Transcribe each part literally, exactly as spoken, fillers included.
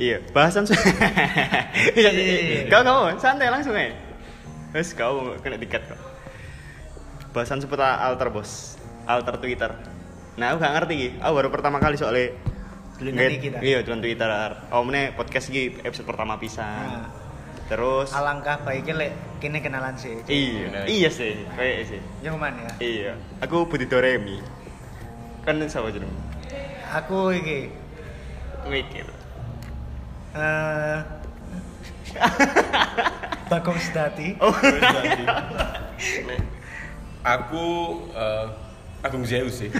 Iya, bahasan iya, iya. Kau kamu santai langsung ya. Wes kau kena tiket kok. Bahasan seputar alter bos, alter Twitter. Nah, aku gak ngerti iki. Aku baru pertama kali soalnya Ngerti kita. Iya, cuman Twitter. Oh, meneh podcast iki episode pertama pisan. Nah. Terus alangkah baiknya lek kene kenalan sih. Iya, iya sih, kayak sih. Yang mana ya? Iya, aku Budi Doremi. Kan sapa jeneng? Aku iki mikir. Eh Bagong Sedati. Oh, Sedati. Aku uh, Agung Zeus sih.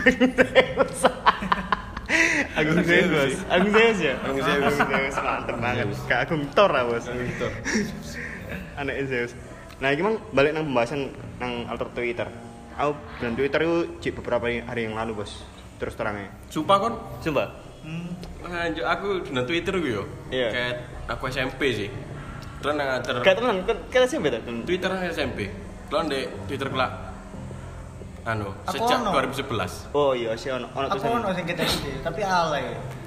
Agung Zeus. Agung Zeus ya? Agung Zeus. Agung Zeus mantep banget. Kayak Agung Thor lah, Bos. Agung Thor. Anak Zeus. Nah, iki mang balik nang pembahasan nang alter Twitter. Aku dan Twitter itu cik beberapa hari yang lalu, Bos. Terus terangnya. Sumpah kon? Sumpah. Hmm. Lanjut aku di Twitter gue yo. Iya. Kayak aku S M P sih. Terus nang antar Kayak teman, kan S M P ta? Twitter S M P. Terus di Twitter kelak anu Aku sejak ono. dua ribu sebelas. Oh iya, sih ono ono Aku ono sing kita iki, tapi alay.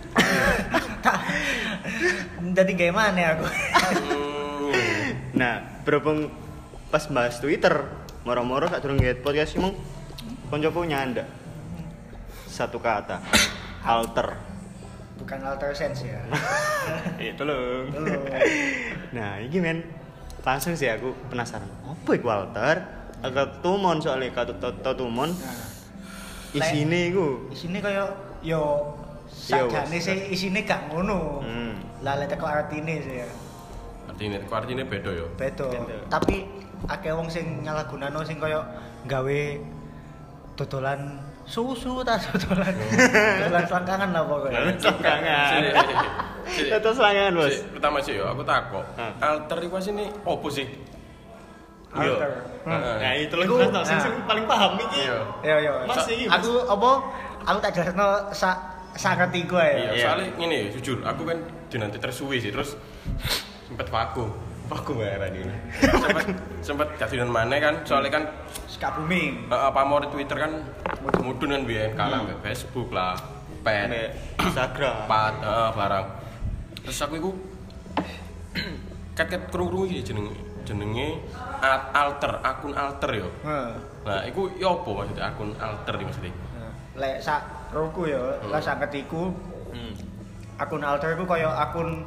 Jadi gimana ya aku? Nah, berhubung pas bahas Twitter, moro-moro gak durung nge podcast emang koncoku nyanda. Satu kata. Alter. Bukan alter sense ya. Iya, tolong. Tolong. Nah, ini men langsung sih aku penasaran. Apa iku alter? Agak tumon soalnya kata tau tumon. Nah, isine iku. isine kaya yo sakjane sih isine gak ngono. Hmm. Lah lek teko artine sih ya. Artinya, kok artinya beda yo. Beto. Beda. Tapi akeh wong sing nyalahgunano sing kaya gawe dodolan susu ta dodolan. Dodolan selangkangan lah pokoknya. Selangkangan. Sini, sini. Itu selangkangan, Bos. Sini, pertama sih yo, aku takok. Hah. Alter iku sini opo sih? Alter. Heeh. Nah, itu lagi Iku- jelas sing sing paling paham iki. Iya. Yo yo. Mas, Sa- iki, Mas. Aku apa? Aku tak jelasno sak sangerti gue Iya, Iya. soalnya gini, jujur, aku kan di nanti tersuwi sih, terus sempet vakum, vakum ya ini. Sempet sempet kasihan mana kan, soalnya kan Ska booming. uh, pamor Twitter kan mudun kan biyen kalah Hmm. Facebook lah, pet, Sampai Instagram. pat, uh, barang. Terus aku iku ket-ket krungu iki jenenge jenenge a- alter, akun alter yo. Heeh. Nah, iku yo apa maksudnya akun alter iki maksudnya? Lek sak roku ya, Hmm. lah sak ketiku Hmm. akun alter iku kaya akun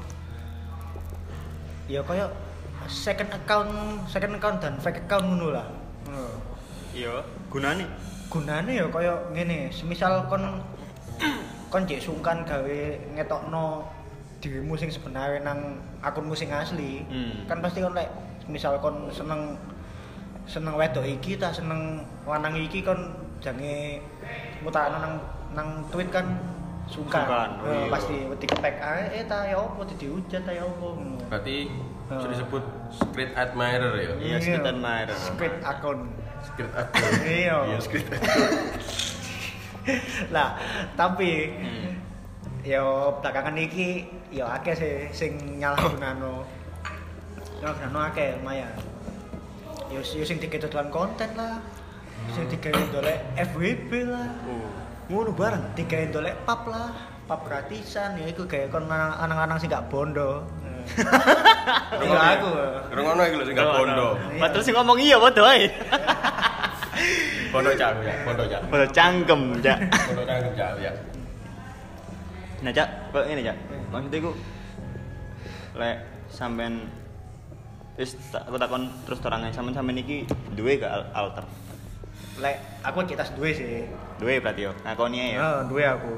ya kaya second account, second account dan fake account ngono lah. Heeh. Iya, gunane. Gunane ya kaya ngene, semisal kon kon jek sungkan gawe ngetokno dirimu sing sebenarnya nang akunmu sing asli. Hmm. Kan pasti kon lek misal kon seneng seneng wedok iki ta seneng lanang iki kon jange mutakno nang nang tweet kan sungkan. Sungkan, oh Eh, iya. pasti wedi kepek ae eh ta ya opo dihujat ta ya opo ngono. Berarti Oh. sudah disebut secret admirer ya? Iya, secret admirer. Secret akun. Secret admirer. Iya. Iya, secret admirer. Lah, tapi Hmm. yo belakangan iki yo akeh sih sing nyalahgunano. Nyalahgunano akeh lumayan. Yo yo sing dikedodolan konten lah. Sing digawe ndolek F W B lah. Oh, ngono bareng. Digawe ndolek pap lah, pap gratisan ya iku gawe kon anang-anang sing gak bondo. Iya aku. Rungono iki lho sing gak bondo. Padahal sing ngomong iya padha ae. Bondo cak ya, bondo cak. Padha cangkem, Cak. Bondo cak cak ya. Nah, Cak, kok ngene, Cak. Maksudnya iku lek sampean wis tak aku takon terus terangnya sampean sampean iki duwe gak al- alter? Lek aku kita duwe sih. Duwe berarti yo. Ngakoni ae ya. Heeh, duwe aku.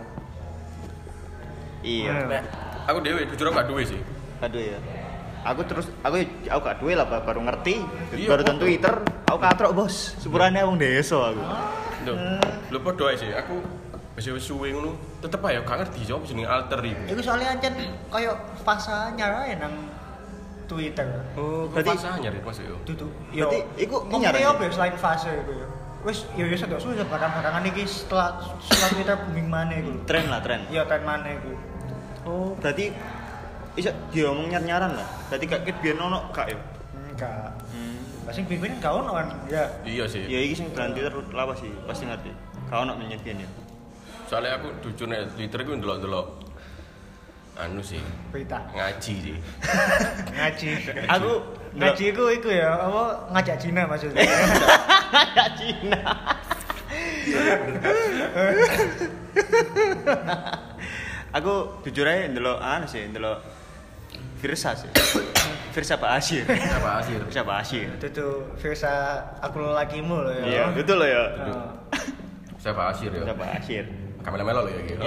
Iya. Hmm. Nek aku dhewe jujur gak duwe sih. Aduh ya. Aku terus aku aku gak duwe lah baru ngerti. Iya, Baru kok. ten Twitter, aku katrok, Bos. Sepurane wong desa aku. Lho, lho padha ae sih. Aku wis wis suwe ngono, tetep ae gak ngerti sapa jenenge alter iki. Iku soalnya ancen koyo fase anyar ae nang Twitter. Oh, Berarti berarti fase anyar maksud yo. Dudu. Berarti iku ngomongnya anyar apa ya selain fase iku ya. Wis yo yo sedok suwe barang-barangan iki setelah setelah Twitter booming maneh iku. tren lah, tren. Iya tren maneh iku. Oh, berarti iso diomong nyar-nyaran lah. Berarti gak ket biyen ono gak ya? Enggak. Hmm. Lah sing bimbing gak ono kan. Ya. Iya sih. Ya iki sing brand Twitter lawas sih, pasti ngerti. Gak ono menyet biyen ya. Soalnya aku jujur nek Twitter iku ndelok-ndelok anu sih, berita. ngaji sih. Ngaji. Aku Ngaji iku iku ya, apa ngajak Cina maksudnya. ngajak Cina. Aku jujur aja ndelok anu sih, ndelok Firsa sih. Firsa Pak Asyir. Apa hasil? Firsa Pak Asyir. Itu tuh Firsa aku lelakimu loh ya. Iya, betul loh ya. Oh. Siapa hasil ya? Firsa Pak Asyir. Kamera melo ya gitu.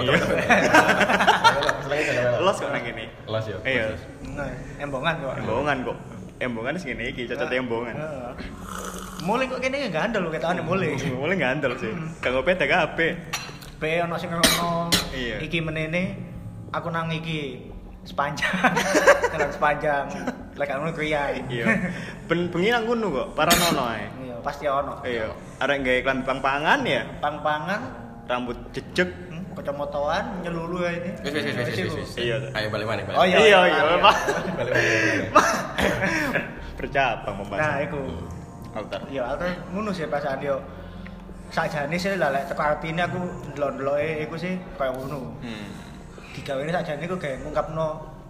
Los kok nang kene. Los ya. Iya. Nah, embongan kok. Embongan kok. Embongan sing ngene iki, cocok embongan. Heeh. Mulai kok kene enggak andel lho ketane mulai. Mulai ngandel sih. Kanggo peda kabeh. Be ono sing ngono. Iya. Iki menene aku nang iki sepanjang. Kenal sepanjang. Lek ngono kriya. Iya. Ben bengi nang ngono kok, paranono ae. Iya, pasti ono. Iya. Arek gawe iklan pang-pangan ya, Pang-pangan, rambut jejeg. hmm, kacamataan nyelulu ya ini. Wis wis wis wis wis. Iya. Ayo balik mana? Oh iya, Iya, iya, iya, iya. Pak. Balik mana? Bercabang Nah, pembahasan. iku. Altar. Iya, alter ngono sih perasaan yo. Sakjane sih lah lek teko artine aku ndelok-ndeloke iku sih kaya ngono. Hmm. Digawene sakjane iku gawe ngungkapno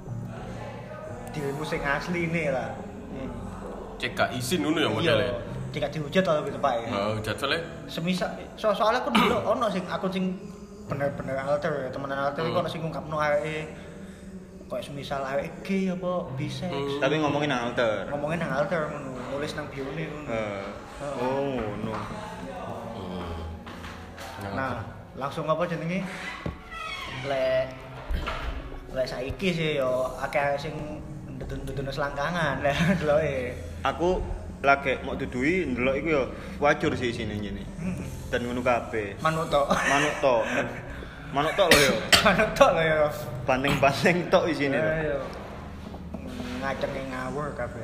dirimu sing asli ini lah. Hmm. Cek gak izin ngono ya modele. Iya, tidak dihujat atau gitu Pak ya. Oh, jadwalnya Semisal so soalnya aku dulu ono sing akun sing bener-bener alter ya, temenan alter iku Hmm. ono sing ngungkapno areke koyo semisal areke gay apa bisex. Hmm. Tapi ngomongin nang altar. Ngomongin nang alter ngono, nulis nang bio-ne ngono. Eh. Oh, ngono. Hmm. Nah, langsung apa jenenge? Lek lek saiki sih yo akeh sing ndudun-ndudun selangkangan lek deloke. Aku lagi mau dudui ndelok iku ya wajur sih sini ngene. Heeh. Dan ngono kabeh. Manuk tok. Manuk tok. Manuk tok lho ya. Manuk tok lho ya. Bandeng-bandeng tok isine lho. Ayo. Ngacenge ngawur kabeh.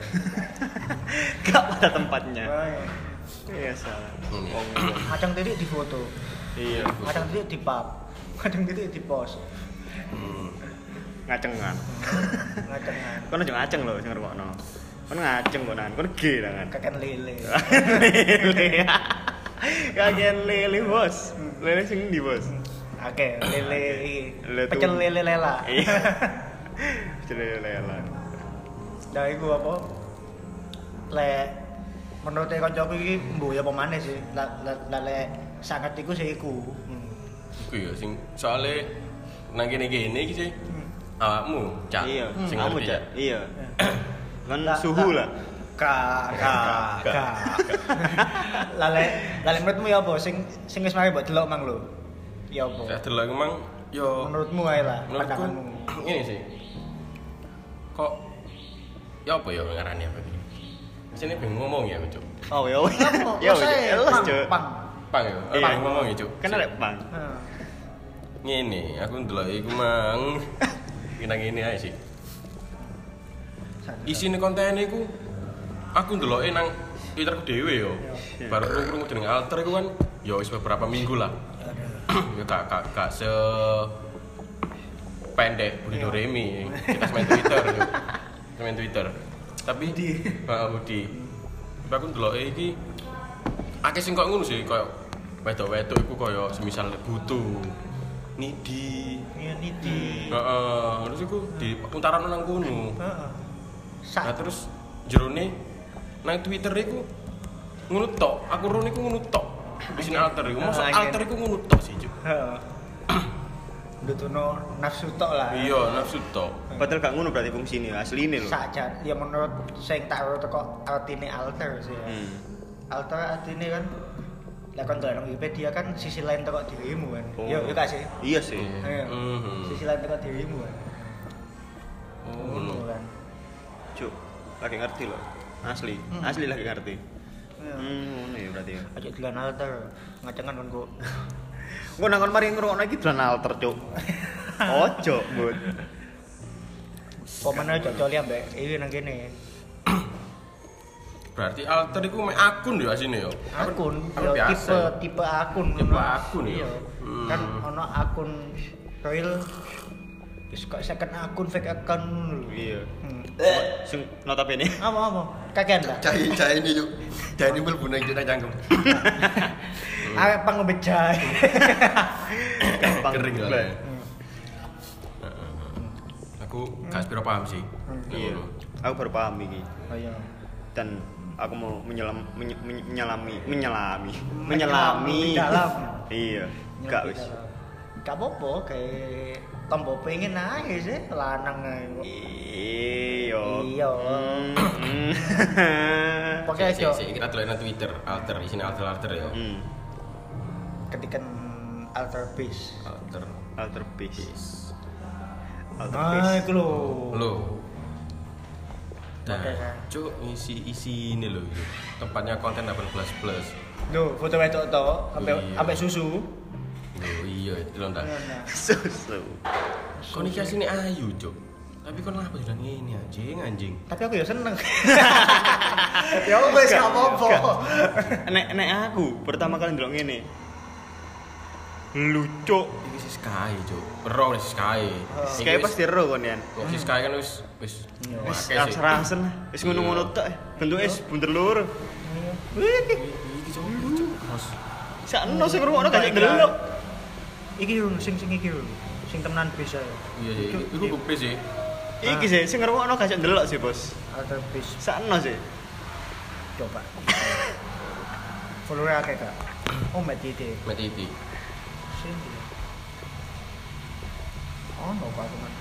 Gak pada tempatnya. Ayo. Iya salah. Hmm. Wong. Kadang titik di foto, Iya. kadang titik di pub, kadang titik di pos. Hmm. Ngacengan. Ngacengan. Kono aja ngaceng lho sing ngrungokno. Kono ngaceng kok nan. Kono ge tangan. Kakek lele. Lele. Kagen lele bos. Lele sing ndi bos? Oke, lele iki. Lele tuh. Pecel lele lela. Iya. Lele lele. Nah, iku apa? Lek menurut kancaku iki mbuh ya pemane sih. Lah lah lek sangat iku sih iku. Hmm. Iku ya sing soalnya nang kene-kene iki sih awakmu cak Iya, sing kamu ngerti cak. Iya. Kan Lah, suhu lah. Ka ka ka. Lale lale menurutmu ya apa sing sing wis mari mbok delok mang lho. Ya apa? Saya delok emang yo Menurutmu ae lah menurutku pandanganmu. ini sih. Kok ya apa ya ngarani apa iki? Sini pengen ngomong ya, Cuk. Oh ya. Apa? Ya Masa wis jelas, pang, Cuk. pang. Pang ya. Iya. Pang ngomong ya, Cuk. Kan ada bang. Heeh. Ngene, aku ndelok iku mang. Kena ngene ae sih. Isine konten iku aku ndeloke nang Twitterku dhewe yo. Iya. Baru krungu jeneng alter iku kan ya wis beberapa minggu lah. Ya gak gak gak se pendek Budi Doremi. Kita main Twitter yo. Kita main Twitter. Tapi di heeh Budi. Tapi aku ndeloke iki akeh sing kok ngono sih koyo wedok-wedok iku koyo semisal butuh nidi. Iya niti. Heeh, terus iku di untaran nang kono. Heeh. Nah Sak terus jerone nang Twitter iku ngono tok. Aku rono iku ngono tok. Di sini alter iku. Mosok Ah, alter iku ngono tok sih, Cuk. heeh. Ndutuno nafsu tok lah. Iya, nafsu tok. Padahal gak ngono berarti fungsine asline lho. Sajan ya menurut sing tak ro teko artine alter sih ya. Hmm. Alter artine kan lek kon ndelok Wikipedia kan sisi lain teko dirimu kan. Oh. Yo yo gak sih? Iya sih. Iya. Mhm. Sisi lain teko dirimu kan. Oh, Ngono ngono. kan. Cuk, lagi ngerti loh. Asli, Hmm. asli lagi ngerti. Iya. Hmm, ngono ya berarti ya. Aja dilan alter. Ngacengan kon kok. Engko nang kon mari ngrungokno iki dolan alter, Cuk. Ojo, Bud. Pomane aja coli ambek iki nang kene. Berarti alter iku mek akun yo asine yo. Akun, Akun yo biasa. tipe tipe akun. Tipe ngono. akun ya? Iya. Hmm. Kan ono akun real wis kok second akun fake account ngono lho. Iya. Hmm. Sing notabene Apa apa? Kakean ta? Cai cai ini yuk. Cai ini mlebu nang kita cangkem. Arek pangombe jahe. gampang Kering lah. bleh. Aku gak sepiro paham sih. Iya. Aku baru paham iki. Oh iya. Dan aku mau menyelam menye, menye, menyelami menyelami Menyelami menyelami dalam. Iya. Gak wis. Gak apa-apa kayak tombo pengen aja sih lanang ae kok. Iya. Iya. Hmm. Pokoknya Sik, aja sik, kita dolan nang Twitter, alter di sini alter-alter ya. Hmm. ketikan alter base. Alter Alter base. base. Alter Ah, base. iku lho. Lo. Nah, Oke, kan. cuk isi isi ini loh itu. Tempatnya konten delapan belas plus. Loh, foto wedok to, sampai Iya. sampai susu. Oh iya, itu lho ndak. Nah, Susu. Kon iki asine ayu, cuk. Tapi kon lha apa jalan ngene anjing, anjing. tapi aku ya seneng. Ya wis gak apa-apa. Nek nek aku pertama kali ndelok ngene. Lucu. Iki si Sky, cuk. Ero si Sky. Iki Kayak wis- pasti ero kon yan. Kok si Sky kan wis wis Wis akeh sih. rasen, wis ngono-ngono tok. Bentuke wis bunder lur. Iki cuk, cuk. Mas. Sakno sing ngrungokno gak ndelok. Iki lho sing sing iki lho. Sing temenan bisa ya. Iya sih, iku bukti sih. Iki sih sing ngrungokno gak ndelok sih, Bos. Alter base Sakno sih. coba. Follower akeh gak? Oh, Mbak Titi. Mati iki. Sing dia. Oh, no Pak teman.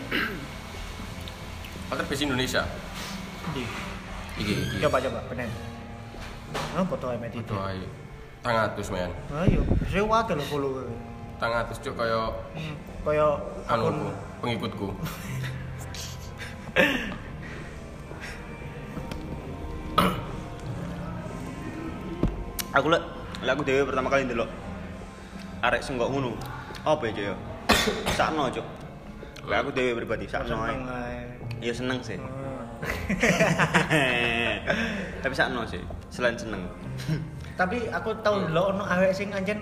Alter base Indonesia. Di. Iki iki. Coba coba benen. Oh, foto Mbak Titi. Foto ae. Tangatus men. Ayo, saya wakil lho follower. Tangatus cuk kaya Hmm, kaya anu akun pengikutku. Aku lek lek aku dhewe pertama kali ndelok arek sing kok ngono. Apa ya, Cuk ya? Sakno, Cuk. Lek aku dhewe pribadi sakno ae. seneng ae. Ya seneng sih. Hmm. Tapi sakno sih, selain seneng. Tapi aku tau ndelok ono awake sing anjen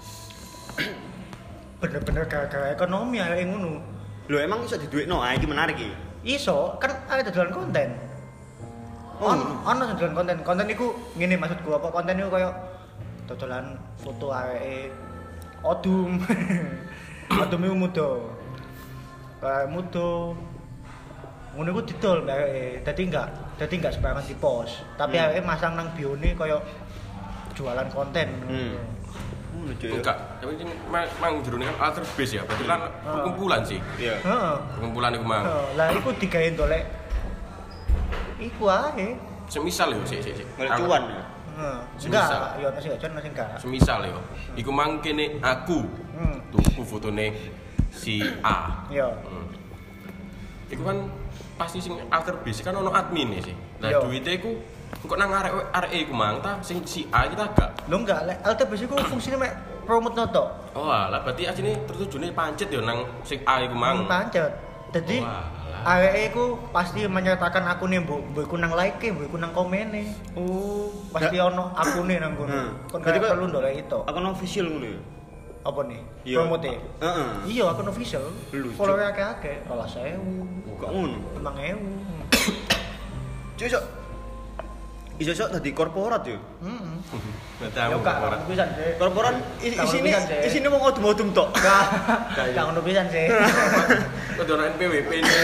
bener-bener gara-gara ekonomi awake ngono. Lho emang iso diduwekno? Ah iki menarik iki. Iso, kan awake dodolan konten. Oh, On, ngono. ono sing dodolan konten. Konten iku ngene maksudku apa konten iku koyo dodolan foto awake odum. Odum iku muda. Kayak muda. Ngono iku didol mbak awake. Dadi enggak, dadi enggak sembarangan di-post. Tapi Hmm. awake masang nang bione koyo jualan konten. Hmm. Ngono, Cuk. ya. Enggak, tapi ini mang, mang jerone kan alter base ya. Berarti kan perkumpulan sih. Iya. Heeh. Perkumpulan iku mang. Heeh, lah iku digawe ndolek. Iku ae. Semisal yo sik sik sik. Golek cuan ya. Heeh. Semisal. Enggak, yo masih aja masih enggak. Semisal yo. Iku mang kene aku Hmm. tuku fotone si A. Yo. Hmm. Iku kan pasti sing alter base kan ono admin sih. Nah, Iya. duite iku kok nang arek arek iku mang ta sing si A kita gak. Lo enggak, lek Alter base iku fungsine mek promote noto. Oh alah, berarti asine tertujune pancet yo nang sing A iku mang. Pancet. Dadi Oh, alah. awake iku pasti menyertakan akune mbok mbok iku nang like, mbok iku nang komene. Oh, Pasti ono akune nang kono. Hmm. Kon Berarti gak kok- perlu ndolek itu. akun official ngono ya. Apa nih? Iya. Promote. Heeh. Iya, akun official. Lucu. Follower akeh-akeh, dua belas ribu, Kok ngono? lima ribu. Cuk, iso. Iso iso dadi korporat yo. Heeh. Berarti Ya gak ngono pisan sih. Korporat is- Gak ngono isine pisan, sih. isine wong odum-odum tok. Gak, gak ngono pisan sih. Kok ono N P W P ini.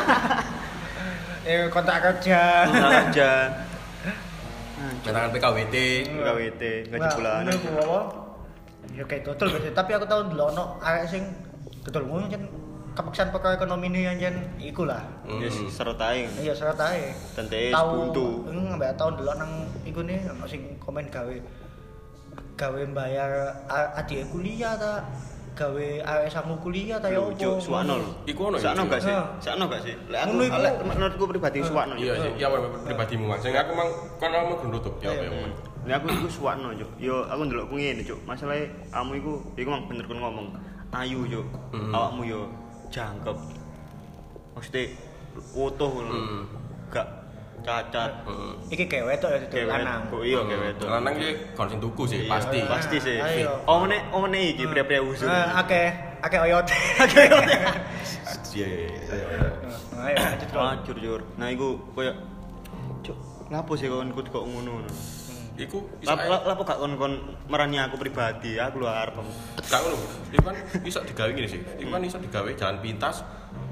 Eh kontrak kerja. aja. Keterangan P K W T. K W T gaji bulanan. Nah, ngono ku apa? Ya kayak dodol berarti, tapi aku tau ndelok ono arek sing dodol ngono jan kepaksaan perkara ekonomi ini anjen iku lah. Ya seret ae. Iya syarat ae. Tente Tau buntu. eng mbak tau ndelok nang iku ne ono sing komen gawe gawe bayar a- adik kuliah ta gawe arek sangu kuliah ta ya opo. Cuk, suwakno lho. Iku ono ya, Sakno Cuk? gak sih? Nah. Sakno gak sih? Lek aku Ngono iku. lek menurutku pribadi suwakno. Iya sih, ya pribadimu Mas. Sing aku mang kon mau nutup ya apa ya. Mas? Nek aku iku suwakno, Cuk. Yo aku ndelok ku ngene, Cuk. Masalahe kamu iku iku mang bener kon ngomong. Ayu, Cuk. Hmm. Awakmu yo jangkep. Maksudnya utuh ngono. Hmm. Gak cacat. Heeh. Iki kayak wedok ya dodol Kewet. lanang. Kok iya kewet. Lanang ki kon sing tuku sih Iya, pasti. Pasti sih. Ayo. Omene omene iki pria-pria usul. Eh akeh akeh oyot. Akeh oyot. Iya. Nah, ayo lanjut kok. Hancur jur. Nah iku koyo Cuk, lapo sih kon kok kok ngono. Iku iso Lap lap lapo gak kon kon merani aku pribadi, aku lho arep. gak ngono. Iku kan iso digawe ngene sih. Iku kan iso digawe jalan pintas.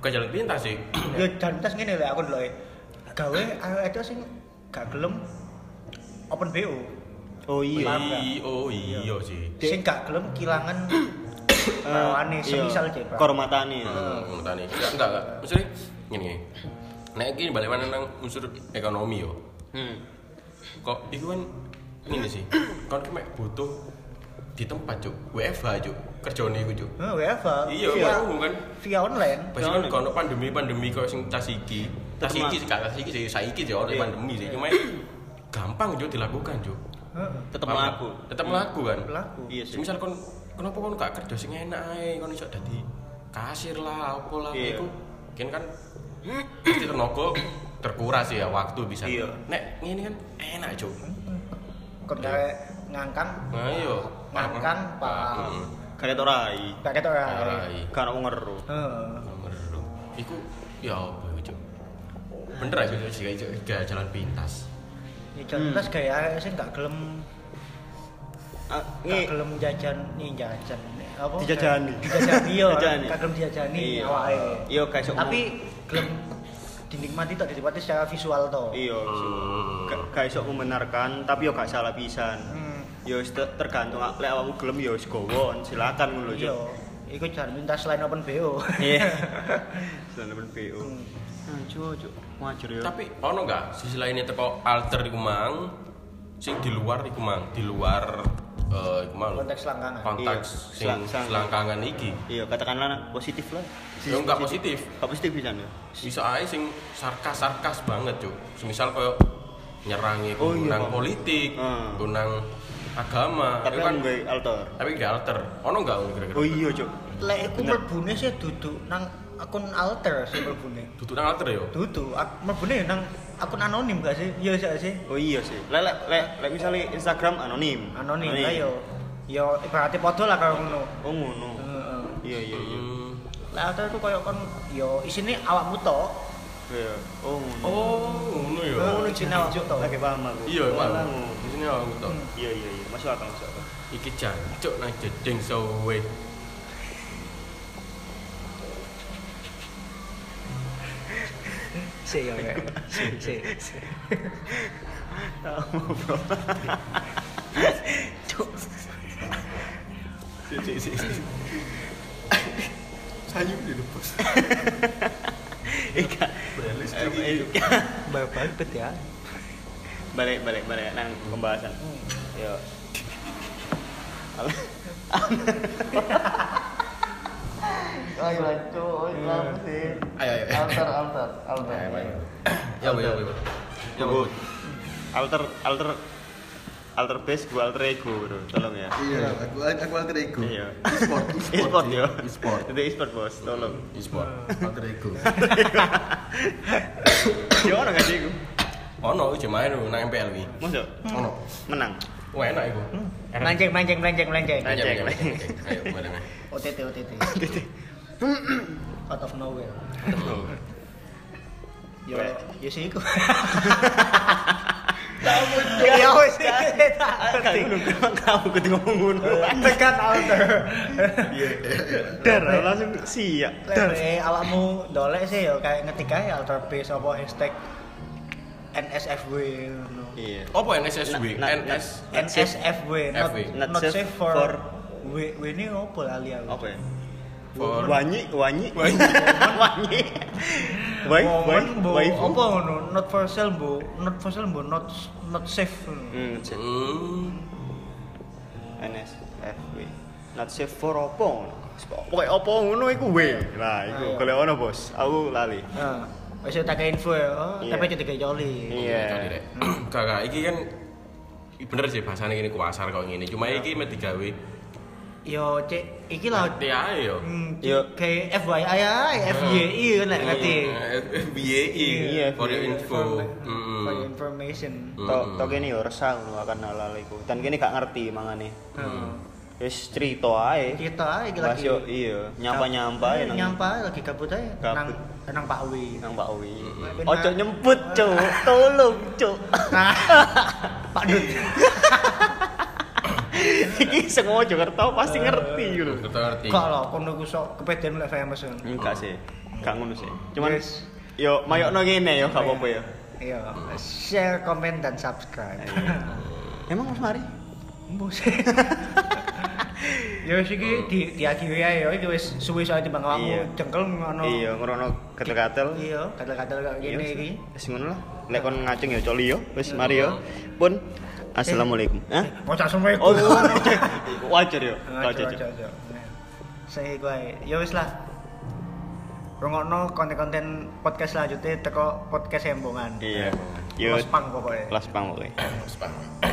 bukan jalan pintas sih. Ya jan tes ngene lho aku ndeloke. Gawe ayo itu sing gak gelem open B O. Oh iya. Paham nggak? I- oh iya sih. Sing gak gelem kilangan rawane semisal cek. Pak. Kormatane. Hmm, tani. Enggak, enggak, enggak. Maksudnya gini. Nek iki balik mana nang unsur ekonomi yo. Hmm. Kok iku kan ini sih. Kon ki mek butuh di tempat, Cuk. W F H, Cuk. Kerjane iku, Cuk. Heeh, W F H. Iya, via, mau kan. via online. Pas kan kono pandemi-pandemi kok sing tas iki. Tas Tetep iki sih gak tas iki sih saiki sih ono Iya. pandemi sih. Cuma gampang Cuk dilakukan, Cuk. Heeh. Tetep Paham nggak? mlaku. Tetep mlaku kan. Pelaku. Iya sih. Misal kon kenapa kon gak kerja sing enak ae, kon iso dadi kasir lah, apa lah Iya. iku. Kan kan pasti tenaga terkuras ya waktu bisa. Iya. Nek ngene kan enak, Cuk. Kon gawe ngangkang. Nah, iya. Ngangkang, Pak. Heeh. Kayak rai. Paket ora. Rai. Kan ngeru. Heeh. Nomor loro. Iku ya apa iku, Cuk? Bener aja Cuk, jika Cuk, jika jalan pintas. Ya jan tes gawe sing gak gelem Ah, gak ngi gelem jajan nih jajan apa Dijajani. dijajani yo Dijajani. gak gelem dijajani Iya. awake Iya, kayak sok tapi gelem dinikmati tok dinikmati secara visual to iya, Hmm. gak gak iso membenarkan tapi yo gak salah pisan. hmm. Yo wis te- tergantung lek awakmu gelem yo wis gowo, silakan ngono iya Cuk. iku jangan minta selain open B O Iya. Selain B O. Hmm. Nah, Cuk, Cuk. Wajar yo. Tapi ono enggak sisi lainnya teko alter iku mang sing di luar iku mang, di luar eh iku mang. konteks langgangan Konteks Iya, sing selang- selang- selangkangan iki. Iya, katakanlah positif lah. Ya enggak positif. Gak positif pisan yo. Bisa ae sing sarkas-sarkas banget, Cuk. Semisal koyo nyerangi Oh, iya, gunang Bang. politik, Hmm. gunang agama. Tapi Iku kan gue alter. tapi gak alter. Ono enggak kira-kira? Oh iya, Cuk. lek iku Bener. mlebune sih duduk nang akun alter sih mlebune Duduk nang alter yo. duduk ak- mlebune nang akun anonim gak sih iya sih sih Oh iya sih. Lek lek lek lek misale Instagram anonim. anonim lah yo yo ibaratnya podo lah karo ngono Oh ngono. heeh Iya iya iya. Hmm. lah alter itu koyo kon yo isine awakmu tok Iya. Oh ngono. Oh, ngono yo. ngono isine awakmu tok Lagi paham aku. Iya, Oh, Pak. ngono. Di sini aku tok. Iya iya iya. Masuk akal masuk akal. Iki jancuk nang jeding sowe. sih yo sih sih Tahu bro. Cuk. Si si si. Sayur di bos. Ika. Balis Eh, iki. Ika. babet ya Balik balik balik nang pembahasan. Yo. Ayo lanjut, lama sih. Ayo ayo. Alter, alter, alter. Ya, ya, ya. Ya, Bu. Alter, alter, alter base, gua alter ego, bro. Tolong ya. Iya, aku aku alter ego. Iya. E-sport, E-sport sih. ya. E-sport. Itu e-sport bos, tolong. E-sport. Alter ego. Ya ono gak sih iku? Ono iki main nang M P L iki. Mosok Ono. menang. Wah, enak iku. melenceng melenceng melenceng melenceng Melenceng. Ayo, ayo, boleh. O T T O T T out of nowhere yo yo sih iku ya wis Kamu nunggu kamu kudu ngomong ngono. tekan alter Iya. Dar langsung siap. lek awakmu dolek sih yo kayak ngetik ae alter base apa hashtag N S F W ngono. Iya. Apa N S S W? Na- N na- S N S F W not, F W. not, Not safe safe for, for- W W ini apa lali aku Apa ya? For- Wanyi, wanyi, Wanyi. wanyi. Wai, wai, Momen bu, wai. apa ngono? Not for sale bu, not for sale bu, not not safe. Hmm, cek. Hmm. N S F W. Not safe for opo? Pokoke opo ngono iku W. Lah, iku Ayo. golek ono, Bos. Aku lali. Nah, wis tak info ya, oh, Iya. tapi jadi joli. Iya. Kali rek. Kakak iki kan bener sih bahasane ngene kuasar kok ngene. Cuma iki mek digawe Yo cek, iki lah. T A E yo. Hmm, Yo. kayak F Y I ae, F Y I kan nek ngerti. F B A I. Iya, For your info. For your Mm. information. Tok Mm-mm. tok kene yo resah ngono akan hal-hal iku. Dan kene gak ngerti mangane. Heeh. Wis cerita ae. Kita ae iki Mas lagi. yo iya, nyampa-nyampa Eh, ae nang nyampa ae lagi gabut ae nang Gabut. nang Pak Wi. nang Pak Wi. Mm-mm. Ojo nyemput, Cuk. Tolong, Cuk. Nah, Pak Dut. Iki sing Mojokerto pasti ngerti gitu. Kita ngerti. Kok lho kono ku sok kepedean lek famous kan. Enggak sih. Gak ngono sih. Cuman Yes. yo mayokno ngene yo gak apa-apa yo. Iya, share, komen dan subscribe. Emang Mas Mari? Mbus. Ya wis iki di diakhiri ae ya, iki wis suwi soal timbang awakmu Iya. jengkel ngono. Iya, ngrono gatel-gatel. Iya, gatel-gatel kaya Iya, gini wis. iki. Wis ngono lah. Lek kon ngaceng ya coli yo. Wis mari yo. Pun assalamualaikum. Hah? Mau cak semua Oh, iku. wajar yo. Aja Wajar. aja aja. Saya iku ae. Ya wis lah. Rungokno konten-konten podcast selanjutnya teko podcast Embongan. Iya. Yo. Los pang pokoknya. Kelas pang pokoknya. Spam.